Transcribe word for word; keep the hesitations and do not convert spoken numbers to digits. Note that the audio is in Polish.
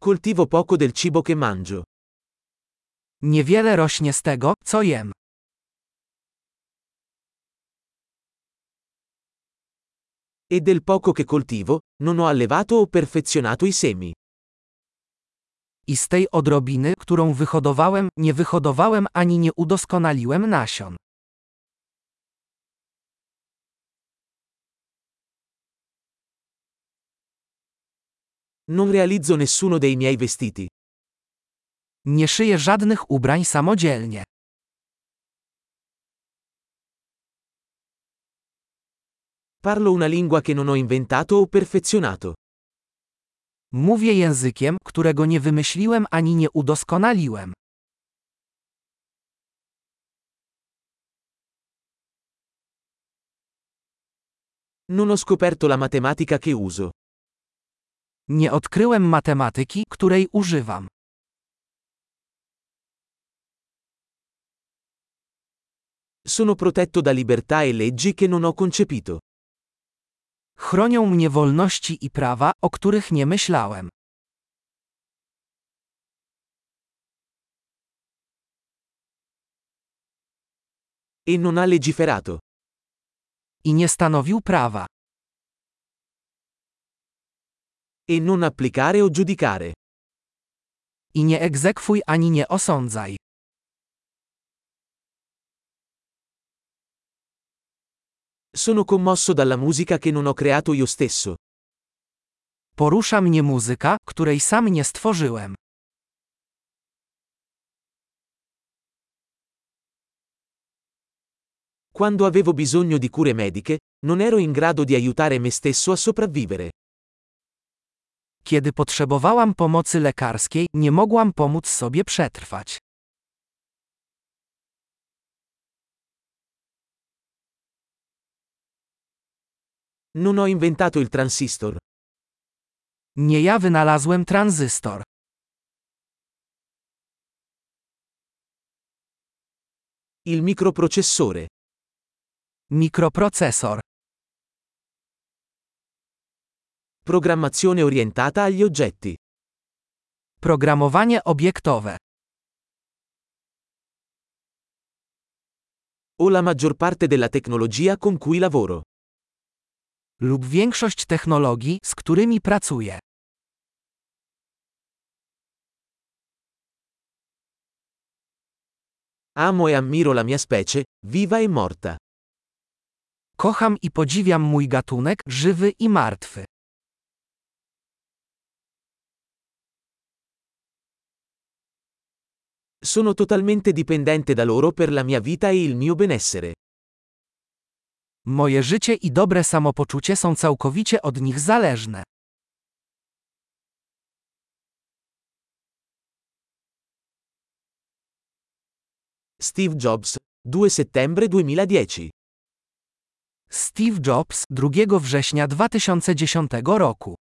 Coltivo poco del cibo che mangio. Niewiele rośnie z tego, co jem. E del poco che coltivo, non ho allevato o perfezionato i semi. I z tej odrobiny, którą wyhodowałem, nie wyhodowałem ani nie udoskonaliłem nasion. Non realizzo nessuno dei miei vestiti. Nie szyję żadnych ubrań samodzielnie. Parlo una lingua che non ho inventato o perfezionato. Mówię językiem, którego nie wymyśliłem ani nie udoskonaliłem. Non ho scoperto la matematica che uso. Nie odkryłem matematyki, której używam. Sono protetto da libertà e leggi che non ho concepito. Chronią mnie wolności i prawa, o których nie myślałem. E non ha legiferato. I nie stanowił prawa. E non applicare o giudicare. I nie egzekwuj ani nie osądzaj. Sono commosso dalla musica che non ho creato io stesso. Porusza mnie muzyka, której sam nie stworzyłem. Quando avevo bisogno di cure mediche, non ero in grado di aiutare me stesso a sopravvivere. Kiedy potrzebowałam pomocy lekarskiej, nie mogłam pomóc sobie przetrwać. Non ho inventato il transistor. Nie ja wynalazłem tranzystor. Il microprocessore. Mikroprocesor. Programmazione orientata agli oggetti. Programowanie obiektowe. O la maggior parte della tecnologia con cui lavoro. Lub większość technologii, z którymi pracuję. Amo e ammiro la mia specie, viva e morta. Kocham i podziwiam mój gatunek, żywy i martwy. Sono totalmente dipendente da loro per la mia vita e il mio benessere. Moje życie i dobre samopoczucie są całkowicie od nich zależne. Steve Jobs, due settembre duemiladieci. Steve Jobs, drugiego września dwa tysiące dziesiątego roku.